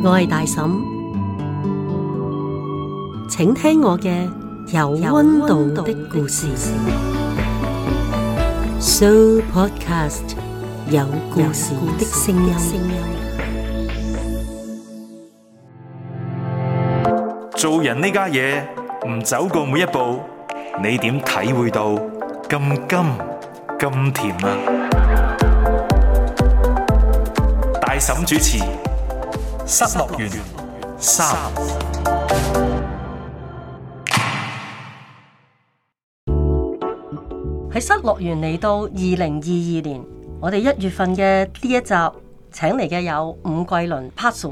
我係大嬸，請聽我嘅有溫度的故事。So Podcast 有故事的聲音。 做人呢家嘢唔走過每一步，你點體會到咁甘咁甜啊？大嬸主持失樂園3。 喺失樂園嚟到2022年，我哋1月份嘅呢一集請嚟嘅有伍桂麟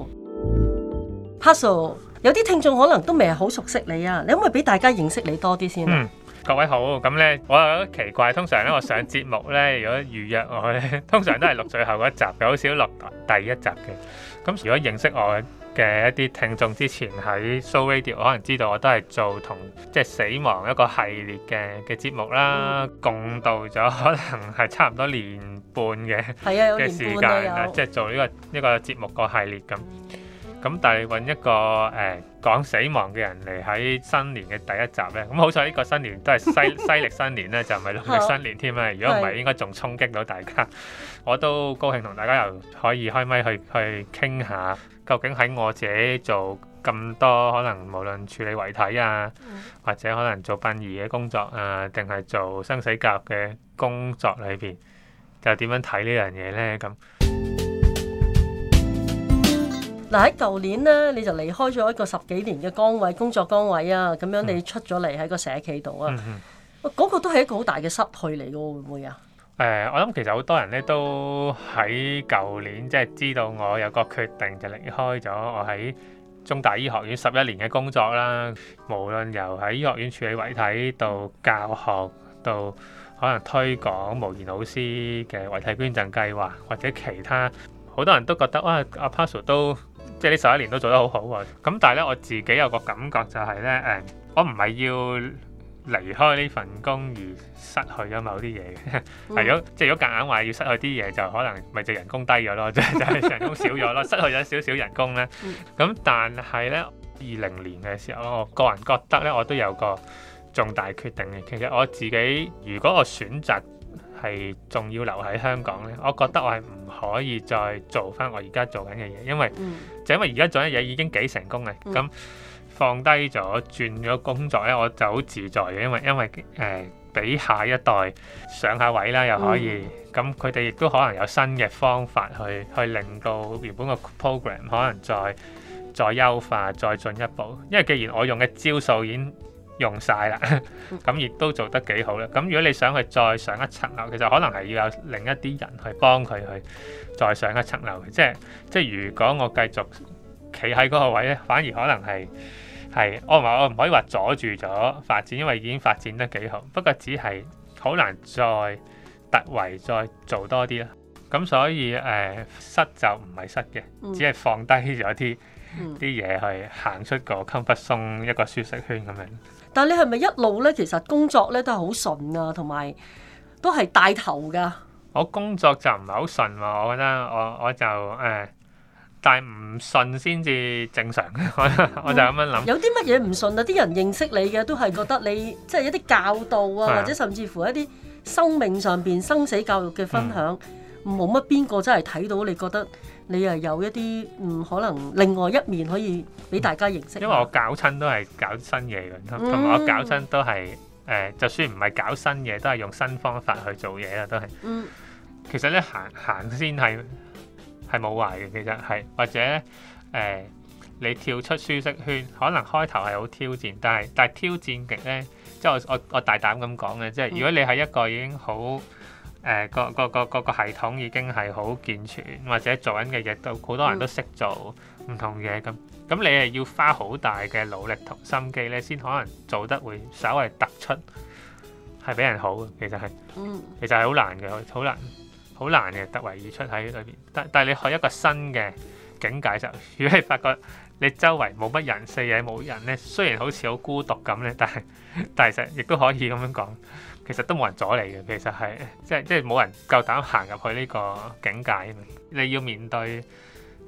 Pazu。有啲聽眾可能都未係好熟悉你啊，你可唔可以俾大家認識你多啲先？ 各位好，咁咧我有啲奇怪，通常咧我上節目咧，如果預約我咧，通常都係錄最後嗰一集嘅，好少錄第一集嘅。咁如果認識我嘅一啲聽眾之前喺 So Radio 可能知道我都係做同即係死亡一個系列嘅節目啦，共度咗可能係差唔多年半嘅時間啦，即係做呢個節目個系列咁。咁但係揾一個講死亡嘅人嚟喺新年嘅第一集咧，咁好彩呢個新年都係西歷新年咧，就唔係農曆新年添啦。如果唔係，應該仲衝擊到大家。我都高興同大家又可以開咪去傾下，究竟喺我自己做咁多可能無論處理遺體啊，或者可能做殯儀嘅工作啊，定係做生死教育嘅工作裏邊，就點樣睇呢樣嘢咧？咁。 嗱，喺舊年咧，你就離開咗一個10幾年嘅工作崗位啊，咁樣你出咗嚟喺個社企度啊，嗰個都係一個好大嘅失去嚟嘅，會唔會啊？ 我諗其實好多人咧都喺舊年即係知道我有個決定就離開咗我喺中大醫學院11年嘅工作啦，無論由喺醫學院處理遺體到教學到可能推廣無言老師嘅遺體捐贈計劃或者其他，好多人都覺得哇，阿 Pazu 都即係呢11年都做得好好喎。咁但係咧，我自己有個感覺就係咧，我唔係要離開呢份工而失去咗某啲嘢嘅。如果夾硬話要失去啲嘢，就可能咪就人工低咗咯，就係人工少咗咯，失去咗少少人工咧。咁但係咧，20年嘅時候，我個人覺得咧，我都有個重大決定嘅。其實我自己如果我選擇係仲要留喺香港咧，我覺得我係唔可以再做翻我而家做緊嘅嘢，因為而家做緊嘢已經幾成功嘅，咁放低咗轉咗工作咧，我就好自在嘅，因為俾下一代上下位啦，又可以，咁佢哋亦都可能有新嘅方法去令到原本個 program 可能再優化再進一步，因為既然我用嘅招數已經用晒啦，咁亦都做得幾好啦。咁如果你想去再上一層樓，其實可能係要有另一啲人去幫佢去再上一層樓嘅。即係如果我繼續企喺嗰個位咧，反而可能係我唔可以話阻住咗發展，因為已經發展得幾好。不過只係好難再突圍再做多啲啦。咁所以失就唔係失嘅，只係放低咗啲嘢去行出個 comfort zone 一個舒適圈咁樣。 但係你係咪一路咧，其實工作咧都係好順啊，同埋都係帶頭噶？ 我工作就唔係好順喎，我覺得我就但係唔順先至正常。我就咁樣諗。有啲乜嘢唔順啊？啲人認識你嘅都係覺得你即係一啲教導啊，或者甚至乎一啲生命上邊生死教育嘅分享，冇乜邊個真係睇到你覺得你係有一啲可能另外一面可以俾大家認識。 因為我搞親都係搞新嘢嘅，同埋我搞親都係就算唔係搞新嘢，都係用新方法去做嘢啦，都係。其實咧行先係冇壞嘅，其實係或者你跳出舒適圈，可能開頭係好挑戰，但係挑戰極咧，即係我大膽咁講嘅，即係如果你係一個已經好個系統已經係好健全，或者做緊嘅嘢都好多人都識做唔同嘢咁你係要花好大嘅努力同心機咧，先可能做得會稍為突出，係比人好嘅。其實係好難嘅，好難嘅突圍而出喺裏邊。但係你去一個新嘅境界就，如果你發覺你周圍冇乜人，四野冇人咧，雖然好似好孤獨咁咧，但係其實亦都可以咁樣講。其實都冇人阻你嘅，其實係即係冇人夠膽行入去呢個境界。你要面對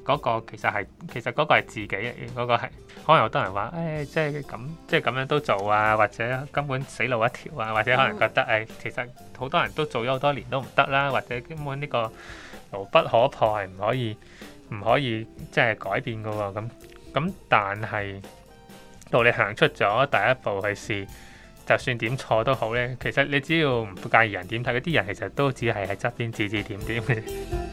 嗰個其實嗰個係自己嚟嘅，嗰個係可能好多人話即係咁樣都做啊，或者根本死路一條啊，或者可能覺得其實好多人都做咗好多年都唔得啦，或者根本呢個牢不可破係唔可以即係改變㗎喎。咁但係到你行出咗第一步去試，就算點錯都好咧，其實你只要唔介意人點睇，嗰啲人其實都只係喺側邊指指點點嘅。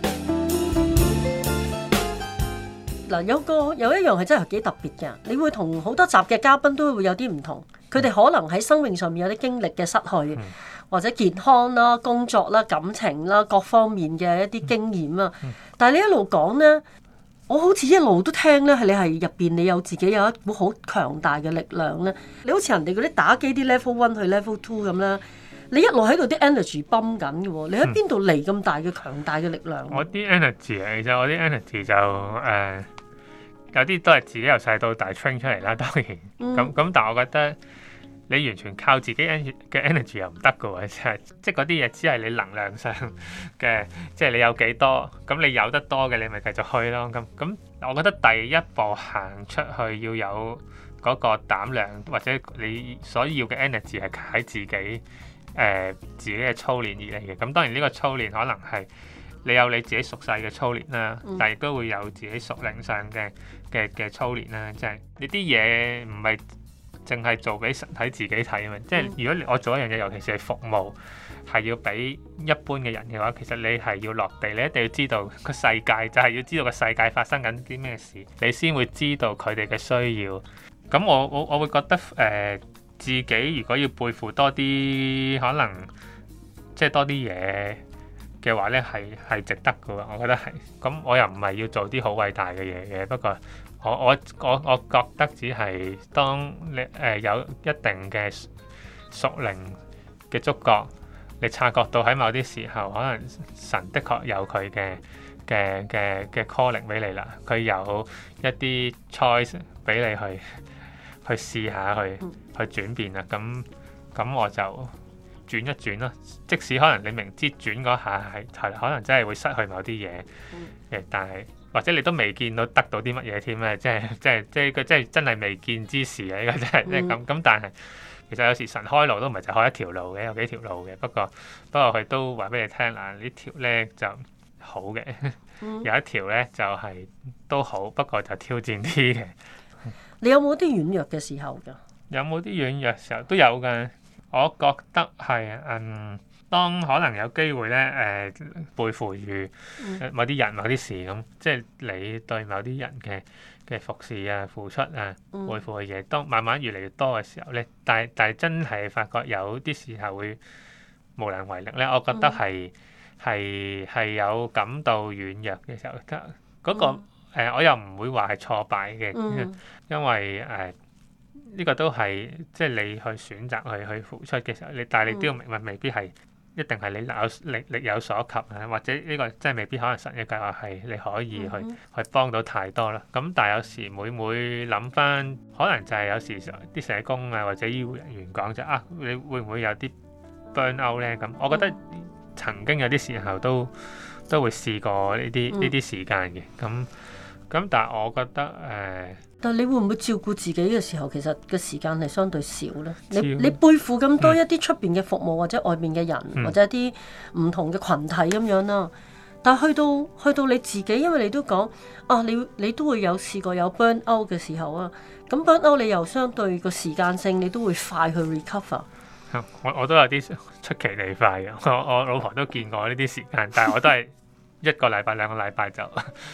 嗱，有一樣係真係幾特別嘅，你會同好多集嘅嘉賓都會有啲唔同，佢哋可能喺生命上面有啲經歷嘅失去，或者健康啦、工作啦、感情啦各方面嘅一啲經驗啊。但係你一路講呢，我好似一路都聽呢，係你係入邊你有自己有一股好強大嘅力量呢。你好似人哋嗰啲打機啲 level 1去 level 2咁啦，你一路喺度啲 energy 泵緊嘅喎，你喺邊度嚟咁大嘅強大嘅力量？ 我啲 energy 其實我啲 energy 就有啲都係自己由細到大 train 出嚟啦，當然咁，但係我覺得你完全靠自己嘅 energy 又唔得嘅喎，即係嗰啲嘢只係你能量上嘅，即係你有幾多，咁你有得多嘅你咪繼續去咯。咁我覺得第一步行出去要有嗰個膽量，或者你所要嘅 energy 係喺自己嘅操練而嚟嘅。咁當然呢個操練可能係你有你自己屬世嘅操練啦，但係亦都會有自己屬靈上嘅操練啦。即係呢啲嘢唔係淨係做俾神睇自己睇啊嘛。即係如果我做一樣嘢，尤其是係服務，係要俾一般嘅人嘅話，其實你係要落地，你一定要知道個世界，就係要知道個世界發生緊啲咩事，你先會知道佢哋嘅需要。咁我會覺得自己如果要背負多啲，可能即係多啲嘢嘅話咧，係值得嘅喎，我覺得係。咁我又唔係要做啲好偉大嘅嘢嘅，不過我覺得只係當你有一定嘅屬靈嘅觸覺，你察覺到喺某啲時候，可能神的確有佢嘅 calling 俾你啦，佢有一啲 choice 俾你去試下去轉變啦。咁我就轉一轉咯，即使可能你明知轉嗰下係可能真係會失去某啲嘢嘅，但係或者你都未見到得到啲乜嘢添咧，即係真係未見之事啊！呢個真係即係咁，但係其實有時神開路都唔係就開一條路嘅，有幾條路嘅。不過佢都話俾你聽啦，呢條咧就好嘅，有一條咧就係都好，不過就挑戰啲嘅。 你有冇啲軟弱嘅時候㗎？ 有冇啲軟弱時候都有㗎。我覺得係當可能有機會咧背負住某啲人某啲事咁，即係你對某啲人嘅服侍啊、付出啊、背負嘅嘢，當慢慢越嚟越多嘅時候咧，但係真係發覺有啲時候會無能為力咧，我覺得係有感到軟弱嘅時候，嗰個我又唔會話係挫敗嘅，因為呢個都係即係你去選擇去付出嘅時候，但係你都要明白，未必係一定係你力有所及啊，或者呢個真係未必可能神嘅計劃係你可以去幫到太多啦。咁但係有時每諗翻，可能就係有時啲社工啊或者醫護人員講就你會唔會有啲 burn out 咧？咁我覺得曾經有啲時候都會試過呢啲時間嘅。咁但係我覺得但係你會唔會照顧自己嘅時候，其實嘅時間係相對少咧？你背負咁多一啲出邊嘅服務或者外面嘅人，或者一啲唔同嘅群體咁樣啦。但係去到你自己，因為你都講你都會有試過有 burn out 嘅時候啊。咁 burn out 你又相對個時間性，你都會快去 recover。 我都有啲出奇地快嘅。我老婆都見過呢啲時間，但係我都係1個禮拜2個禮拜就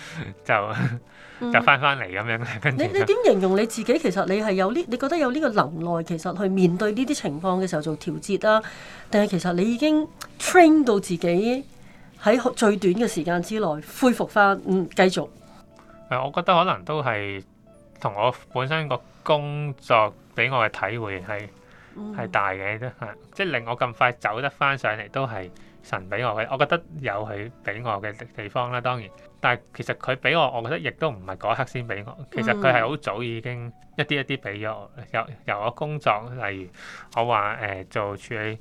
翻嚟咁樣。跟住你點形容你自己？其實你係有你覺得有呢個能耐，其實去面對呢啲情況嘅時候做調節啦，定係其實你已經 train 到自己喺最短嘅時間之內恢復翻，繼續。 我覺得可能都係同我本身個工作俾我嘅體會係大嘅，即係令我咁快走得翻上嚟，都係神俾我嘅。我覺得有佢俾我嘅地方啦，當然。但係其實佢俾我覺得亦都唔係嗰一刻先俾我。其實佢係好早已經一啲俾咗我。由我工作，例如我話做處理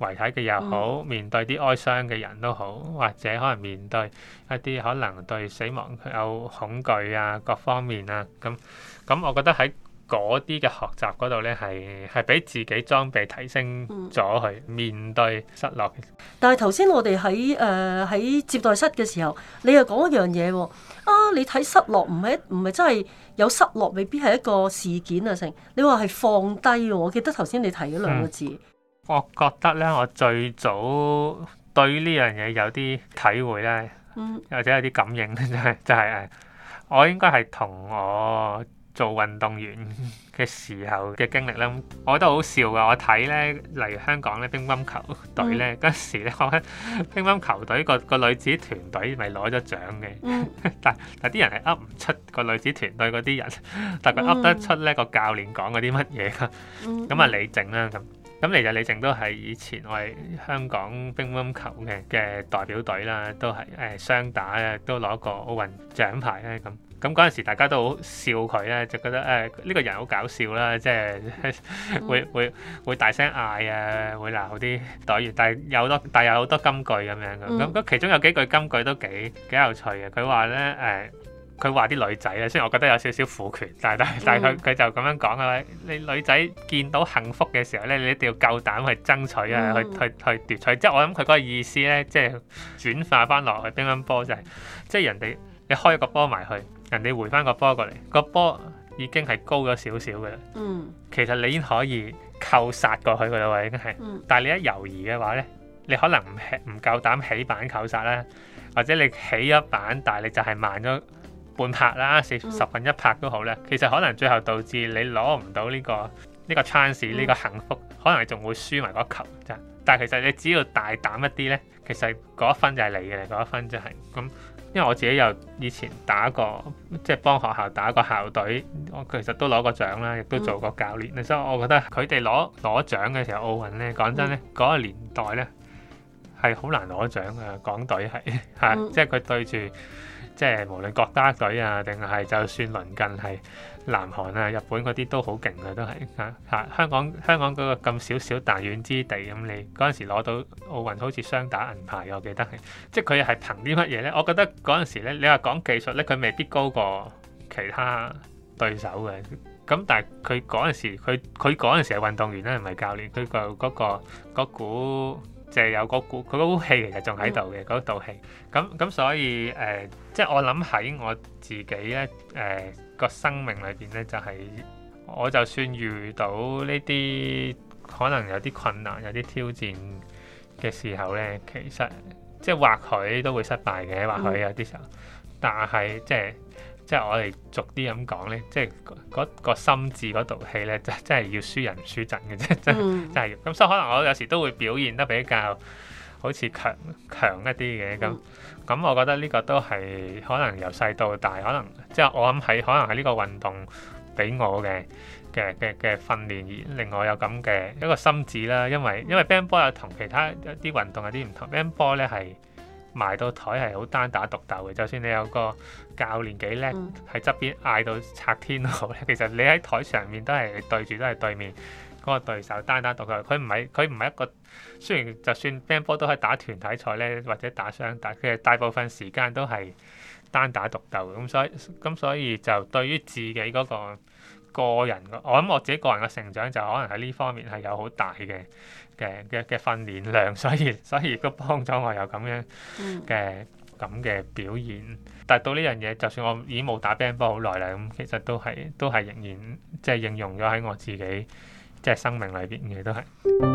遺體嘅又好，面對啲哀傷嘅人都好，或者可能面對一啲可能對死亡有恐懼啊各方面啊，咁我覺得喺嗰啲嘅學習嗰度咧，係俾自己裝備提升咗去面對失落嘅。 但係頭先我哋喺接待室嘅時候，你又講一樣嘢喎。你睇失落唔係真係有失落，未必係一個事件啊成。你話係放低喎，我記得頭先你提咗兩個字。 我覺得咧，我最早對呢樣嘢有啲體會咧，或者有啲感應咧，就係我應該係同我做運動員嘅時候嘅經歷咧，我覺得好笑噶。我睇咧，例如香港咧乒乓球隊咧，嗰時咧，我覺得乒乓球隊個女子團隊咪攞咗獎嘅，但啲人係噏唔出個女子團隊嗰啲人，但佢噏得出咧個教練講嗰啲乜嘢噶。咁李靜啦咁其實李靜都係以前我係香港乒乓球嘅代表隊啦，都係雙打咧，都攞過奧運獎牌咧咁。咁嗰陣時大家都好笑佢咧，就覺得呢個人好搞笑啦，即係會大聲嗌啊，會鬧啲隊員，但係有好多金句咁樣嘅。咁其中有幾句金句都幾有趣嘅。佢話咧佢話啲女仔咧，雖然我覺得有少少父權，但係佢就咁樣講啊！你女仔見到幸福嘅時候咧，你一定要夠膽去爭取啊，去奪取。即係我諗佢嗰個意思咧，即係轉化翻落去乒乓波就係，即係人哋你開一個波埋去，人哋回翻個波過嚟，個波已經係高咗少少嘅啦。其實你已經可以扣殺過去嘅啦喎，已經係。但係你一猶豫嘅話咧，你可能唔夠膽起板扣殺啦，或者你起一板，但係你就係慢咗半拍啦，十分一拍都好咧。其實可能最後導致你攞唔到呢個 chance，呢個幸福，可能你仲會輸埋嗰球咋。但係其實你只要大膽一啲咧，其實嗰一分就係你嘅，嗰一分就係咁。因為我自己又以前打過，即係幫學校打過校隊，我其實都攞過獎啦，亦都做過教練。所以我覺得佢哋攞獎嘅時候，奧運咧，講真咧，嗰個年代咧係好難攞獎嘅，港隊係即係佢對住。即係無論國家隊啊，定係就算鄰近係南韓啊、日本嗰啲都好勁嘅，都係香港嗰個咁少彈丸之地咁，你嗰陣時攞到奧運好似雙打銀牌，我記得係，即係佢係憑啲乜嘢咧？我覺得嗰陣時咧，你話講技術咧，佢未必高過其他對手嘅。咁但係佢嗰陣時，佢嗰陣時係運動員咧，唔係教練，佢嗰股。就係有嗰股，佢嗰股氣其實仲喺度嘅，嗰道氣。咁所以即係我諗喺我自己咧個生命裏邊咧，就係我就算遇到呢啲可能有啲困難、有啲挑戰嘅時候咧，其實即係或許都會失敗嘅，或許有啲時候，但係即係我哋逐啲咁講咧，即係嗰個心智嗰道氣咧，真係要輸人唔輸陣嘅啫，真係要。咁所以可能我有時都會表現得比較好似強一啲嘅咁，我覺得呢個都係可能由細到大，可能即係我諗係可能係呢個運動俾我嘅訓練而令我有咁嘅一個心智啦。因為乒乓波有同其他一啲運動有啲唔同，乒乓波咧係埋到台係好單打獨鬥嘅，就算你有個教練幾叻喺側邊嗌到拆天都好咧，其實你喺台上面都係對面嗰個對手單打獨鬥。佢唔係一個，雖然就算乒乓波都可以打團體賽咧，或者打雙打，其實大部分時間都係單打獨鬥。咁所以就對於自己嗰個人，我諗我自己個人嘅成長就可能喺呢方面係有好大嘅訓練量，所以都幫咗我有咁樣嘅表現。但係到呢樣嘢，就算我已經冇打乒乓波好耐啦，咁其實都係仍然即係應用咗喺我自己即係生命裏邊嘅都係。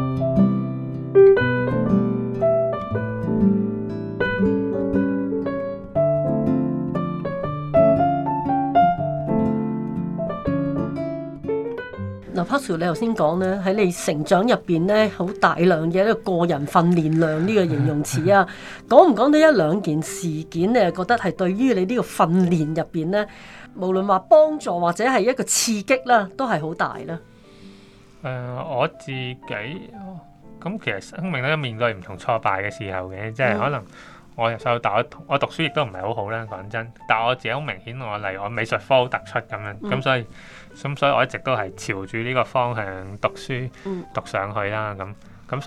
嗱，Patrick，你頭先講咧，喺你成長入邊咧，好大量嘅一個個人訓練量呢個形容詞啊，講唔講到一兩件事件，你係覺得係對於你呢個訓練入邊咧，無論話幫助或者係一個刺激啦，都係好大啦。 我自己咁其實生命都面對唔同挫敗嘅時候嘅，即係可能我由細到大，我讀書亦都唔係好好啦，講真。但係我自己好明顯，例如我美術科好突出咁樣，咁所以我一直都係朝住呢個方向讀書讀上去啦。咁所以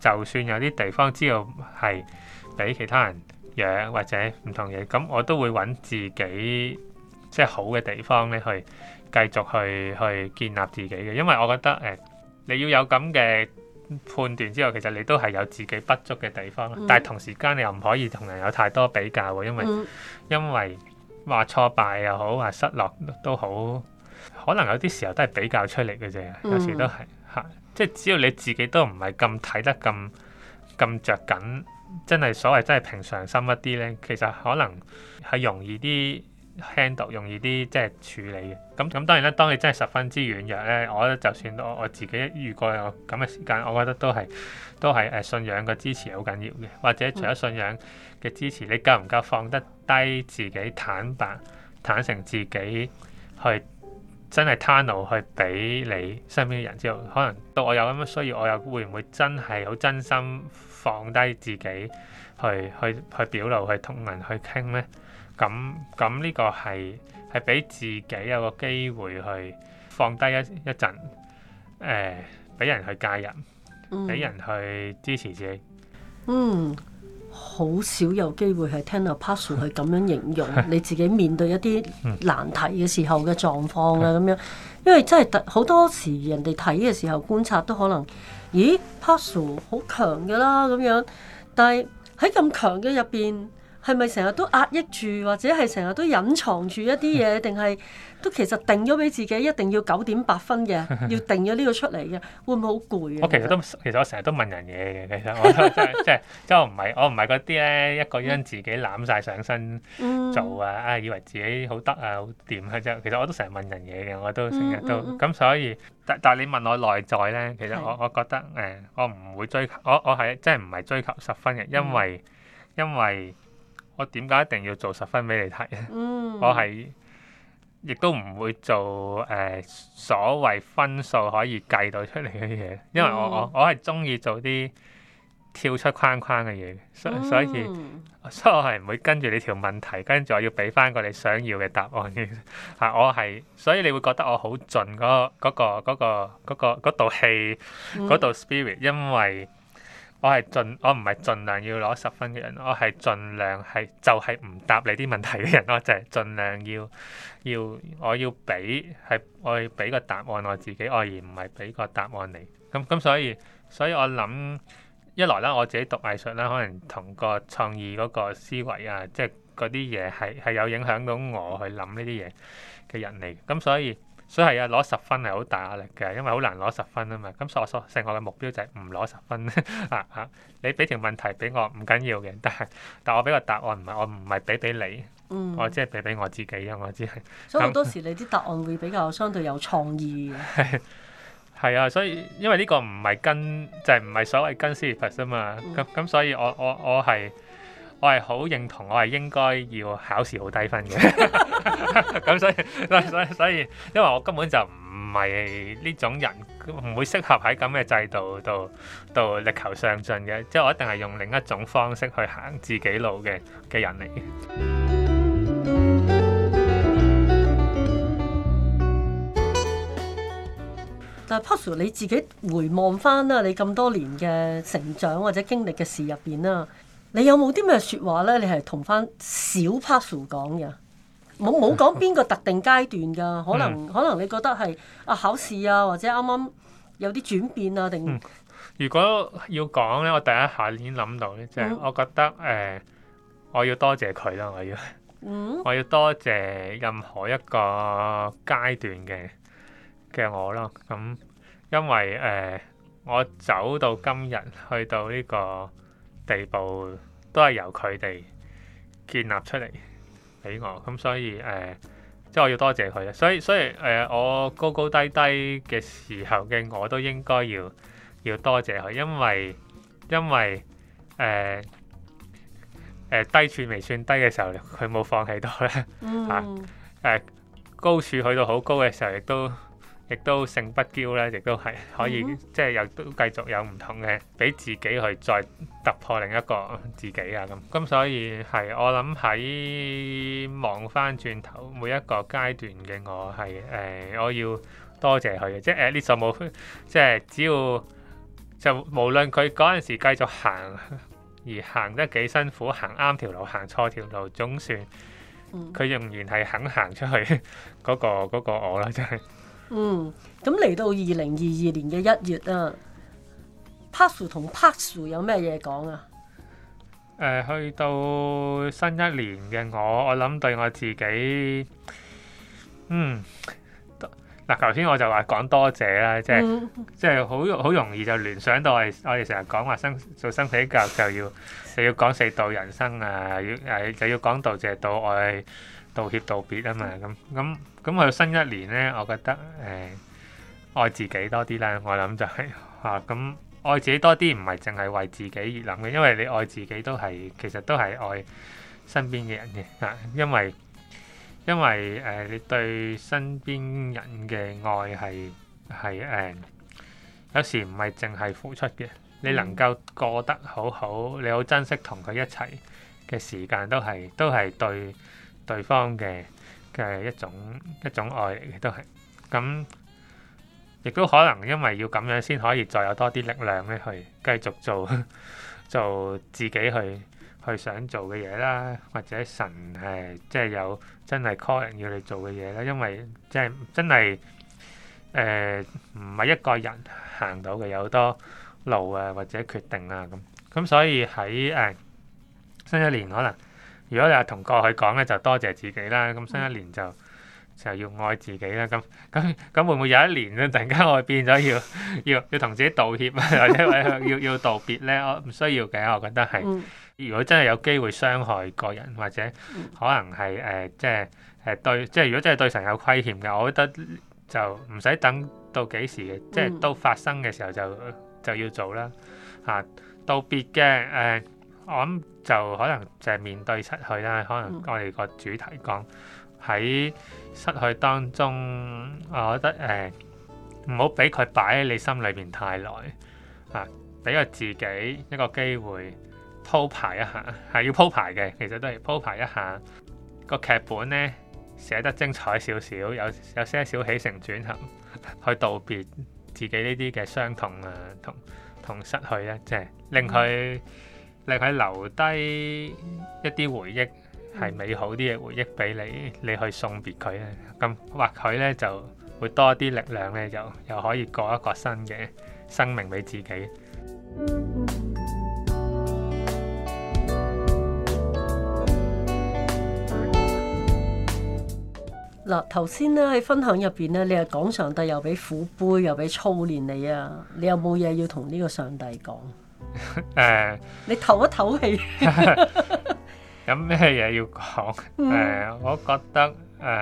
就算有啲地方知道係俾其他人養或者唔同嘢，咁我都會揾自己即係好嘅地方咧，去繼續去建立自己嘅。因為我覺得你要有咁嘅判斷之後，其實你都係有自己不足嘅地方，但係同時間你又唔可以同人有太多比較喎，因為話挫敗又好，話失落都好，可能有啲時候都係比較出嚟嘅啫，有時都係嚇，即係只要你自己都唔係咁睇得咁著緊，真係所謂真係平常心一啲咧，其實可能係容易啲 handle， 容易啲即係處理嘅。咁當然啦，當你真係十分之軟弱咧，我覺得就算我自己遇過有咁嘅時間，我覺得都係信仰嘅支持好緊要嘅。或者除咗信仰嘅支持，你夠唔夠放得低自己，坦誠自己去真係攤路去俾你身邊嘅人知道，可能到我有咁嘅需要，我又會唔會真係好真心放低自己去表露，去同人去傾呢？咁呢個係俾自己有個機會去放低一陣，俾人去介入，俾人去支持自己。 好少有機會係聽到 Pastor 去咁樣形容你自己面對一啲難題嘅時候嘅狀況啊，咁樣，因為真係好多時人哋睇嘅時候觀察都可能，咦 Pastor 好強㗎啦咁樣，但係喺咁強嘅入邊，係咪成日都壓抑住，或者係成日都隱藏住一啲嘢，定係都其實定咗俾自己一定要9.8分嘅，要定咗呢個出嚟嘅，會唔會好攰啊？ 其實我成日都問人嘢嘅，其實我即係我唔係嗰啲咧一個人自己攬晒上身做啊，以為自己好得啊好掂啊啫。其實我都成日問人嘢嘅，我都成日都咁，所以但係你問我內在咧，其實我覺得我唔會追求，我係真係唔係追求10分嘅，因為我點解一定要做10分俾你睇？我係亦都唔會做所謂分數可以計到出嚟嘅嘢，因為我係中意做啲跳出框框嘅嘢，所以我係唔會跟住你條問題，跟住我要俾翻個你想要嘅答案嘅嚇。所以你會覺得我好盡嗰道氣，嗰道 spirit，因為我唔係盡量要攞10分嘅人，我係盡量就係唔答你啲問題嘅人，我就係盡量我要俾個答案我自己，而唔係俾個答案你。咁所以我諗一來啦，我自己讀藝術啦，可能同個創意嗰個思維啊，即係嗰啲嘢係有影響到我去諗呢啲嘢嘅人嚟。咁所以係啊，攞10分係好大壓力嘅，因為好難攞10分啊嘛。咁所以成個嘅目標就係唔攞10分你俾條問題俾我唔緊要嘅，但我俾個答案我唔係俾你，我即係俾我自己啊！我只係。 所以好多時你啲答案會比較相對有創意嘅。 係啊，所以因為呢個唔係唔係所謂跟 syllabus 啊嘛。咁所以我係好認同，我係應該要考試好低分嘅。咁所以，因為我根本就唔係呢種人，唔會適合喺咁嘅制度度力求上進嘅。即係我一定係用另一種方式去行自己路嘅人嚟嘅。 但係 Pastor 你自己回望翻啦，你咁多年嘅成長或者經歷嘅事入邊啦，你有冇啲咩説話咧？你係同翻小 Pastor 講嘅？冇講邊個特定階段㗎，可能你覺得係考試啊，或者啱啱有啲轉變啊，定？ 如果要講咧，我第一下已經諗到咧，即係我覺得我要多謝佢啦，我要多謝任何一個階段嘅我咯。咁因為我走到今日去到呢個地步，都係由佢哋建立出嚟俾我，咁所以即係我要多謝佢。所以我高高低低嘅時候嘅我都應該要多謝佢，因為低處未算低嘅時候，佢冇放棄到咧。高處去到好高嘅時候，亦都勝不驕咧，亦都係可以即係又都繼續有唔同嘅，俾自己去再突破另一個自己啊咁。所以係我諗喺望翻轉頭每一個階段嘅我係我要多謝佢嘅，即係呢首冇即係只就無論佢嗰陣時繼續行，而行得幾辛苦，行啱條路，行錯條路，總算佢仍然係肯行出去嗰個我啦，真係。 咁嚟到2022年嘅1月啊，Pazu 同 Pazu 有咩嘢講啊？ 去到新一年嘅我諗對我自己，嗱，頭先我就話講多謝啦，即係好容易就聯想到我哋成日講話做生死教育就要講4道人生啊，就要講道謝、道愛、道歉、道別啊嘛，咁去到新一年咧，我覺得愛自己多啲啦，我諗就係咁愛自己多啲，唔係淨係為自己而諗嘅，因為你愛自己其實都係愛身邊嘅人嘅，因為你對身邊人嘅愛係有時唔係淨係付出嘅，你能夠過得好好，你好珍惜同佢一齊嘅時間，都係對對方嘅一種愛嚟嘅，都係咁。亦都可能因為要咁樣先可以再有多啲力量咧，去繼續做自己去想做嘅嘢啦，或者神即係有真係 call 人要你做嘅嘢啦。因為即係真係唔係一個人行到嘅，有好多路啊或者決定啊咁，所以喺新一年可能如果你係同過去講咧，就多謝自己啦。咁新一年就要愛自己啦，咁會唔會有一年咧，突然間我變咗要同自己道歉啊，或者要道別咧？我唔需要嘅，我覺得係。如果真係有機會傷害個人，或者可能係即係如果真係對神有虧欠嘅，我覺得就唔使等到幾時嘅，即係都發生嘅時候就要做啦。道別嘅我諗就可能就係面對失去啦。可能我哋個主題講喺失去當中，我覺得唔好俾佢擺喺你心裏邊太耐俾個自己一個機會鋪排一下，係要鋪排嘅，其實都係鋪排一下個劇本呢，寫得精彩少少，有些少起承轉合，去道別自己呢啲嘅傷痛啊，同失去咧，即係令佢留低一啲回憶。係美好啲嘅回憶俾你去送別佢咧，咁或許咧就會多啲力量咧，又可以過一個新嘅生命俾自己。 嗱，頭先咧喺分享入邊咧，你係講上帝又俾苦杯，又俾操練你啊，你有冇嘢要同呢個上帝講？你唞一唞氣。 有咩嘢要講？我覺得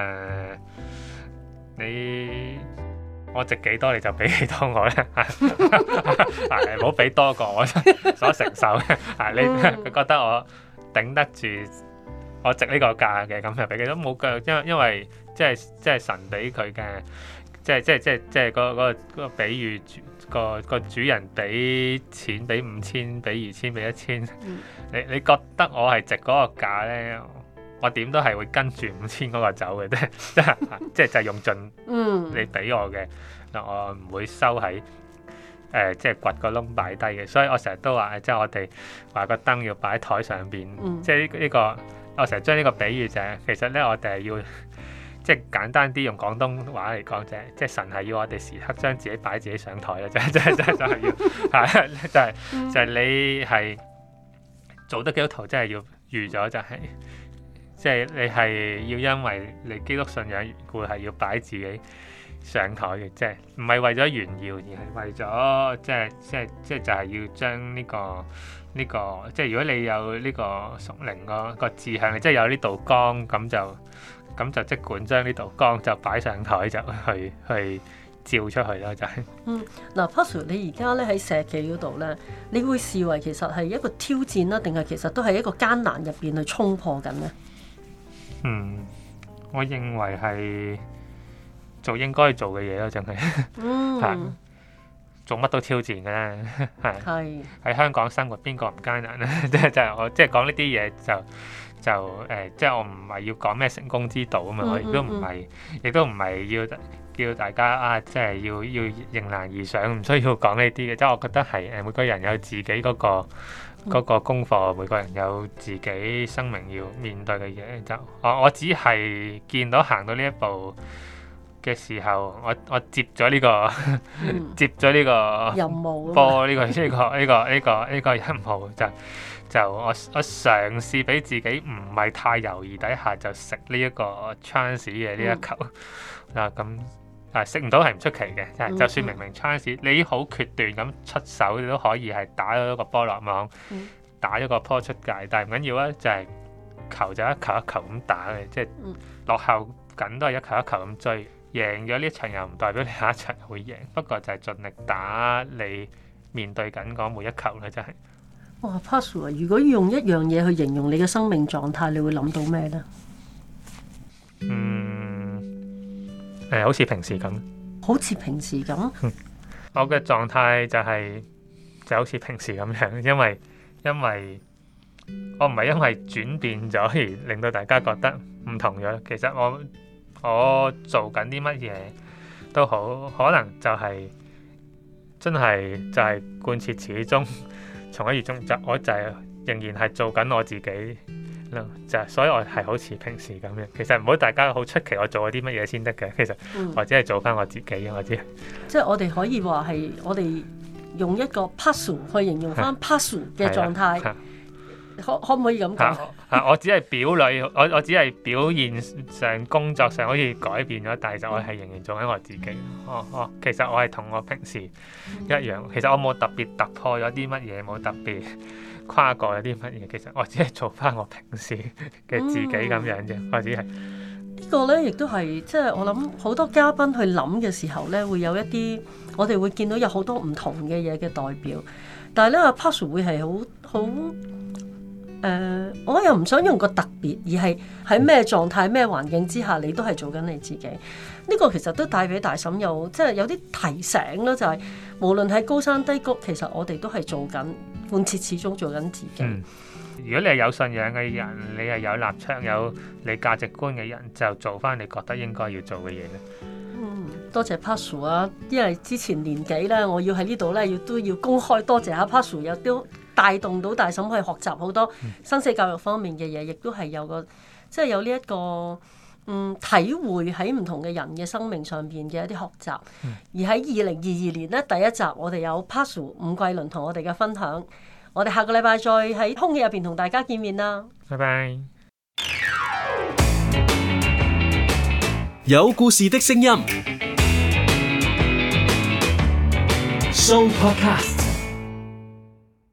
我值幾多你就俾幾多我咧，唔好俾多過我所承受嘅。你覺得我頂得住，我值呢個價嘅，咁就俾幾多冇腳，因為即係神俾佢嘅，即係嗰個比喻。個主人俾錢，俾5000，俾2000，俾1000。你覺得我係值嗰個價咧？我點都係會跟住5000嗰個走嘅，即係就用盡你俾我嘅，我唔會收喺即係掘個窿擺低嘅。所以我成日都話，即係我哋話個燈要擺喺台上邊，即係呢個我成日將呢個比喻就係，其實咧我哋係要。即係簡單啲用廣東話嚟講啫，即係神係要我哋時刻將自己擺自己上台啦，就係要就係你係做得基督徒，真係要預咗就係，即係你係要因為你基督信仰緣故係要擺自己上台嘅，即係唔係為咗炫耀，而係為咗即係就係要將呢個即係如果你有呢個屬靈個志向，即係有呢道光咁就即管將呢道光就擺上台，就去照出去啦，就係。 嗱，Pazu，你而家咧喺社企嗰度咧，你會視為其實係一個挑戰啦，定係其實都係一個艱難入邊去衝破緊咧？ 我認為係做應該做嘅嘢咯，真係。 做乜都挑戰嘅啦， 係喺香港生活邊個唔艱難咧？即係我即係講呢啲嘢即係我唔係要講咩成功之道啊嘛，我亦都唔係要大家啊，即係要迎難而上，唔需要講呢啲嘅。即係我覺得係每個人有自己嗰個功課，每個人有自己生命要面對嘅嘢。就我只係見到行到呢一步嘅時候，我接咗呢個接咗呢個任務波呢個任務就我嘗試俾自己唔係太猶豫底下就食呢一個 chance 嘅呢一球咁食唔到係唔出奇嘅，就算明明 chance 你好決斷咁出手，你都可以係打咗個波落網，打咗個波出界，但係唔緊要啊，就係球就一球一球咁打嘅，即係落後緊都係一球一球咁追。贏咗呢一場又唔代表你下一場會贏，不過就係盡力打你面對緊嗰每一球啦，真係。 哇 Pazu 啊！如果要用一樣嘢去形容你嘅生命狀態，你會諗到咩呢？ 好似平時咁。 好似平時咁。 我嘅狀態就好似平時咁樣，因為我唔係因為轉變咗而令到大家覺得唔同咗。其實我做緊啲乜嘢都好，可能就係真係就係貫徹始終，從一而終。我就係仍然係做緊我自己咯，所以我係好似平時咁樣。其實唔好大家好出奇我做咗啲乜嘢先得嘅，其實我只係做翻我自己。我知即係我哋可以話係我哋用一個 Pazu 去形容翻 Pazu 嘅狀態。可唔可以咁講？ 我只係表裏，我只係表現上、工作上好似改變咗，但係就我係仍然做緊我自己。其實我係同我平時一樣。其實我冇特別突破咗啲乜嘢，冇特別跨過咗啲乜嘢。其實我只係做翻我平時嘅自己咁樣啫。我只係呢個呢，亦都係即係我諗好多嘉賓去諗嘅時候呢，會有一啲我哋會見到有好多唔同嘅嘢嘅代表。但係呢，阿 Pazu 會係好。我又唔想用個特別，而係喺咩狀態、咩環境之下，你都係做緊你自己。呢個其實都帶俾大嬸即係有啲提醒啦，就係無論喺高山低谷，其實我哋都係做緊貫徹始終做緊自己。 如果你係有信仰嘅人，你係有立場、有你價值觀嘅人，就做翻你覺得應該要做嘅嘢咧。 多謝 Pazu 啊，因為之前年紀咧，我要喺呢度咧，都要公開多謝下 Pazu，又都帶動到大嬸去學習好多生死教育方面嘅嘢，亦都係有個即係有呢一個體會喺唔同嘅人嘅生命上邊嘅一啲學習。而喺2022年咧，第一集我哋有 Pazu 伍桂麟同我哋嘅分享，我哋下個禮拜再喺空氣入邊同大家見面啦。 拜拜。 有故事的聲音。Show Podcast。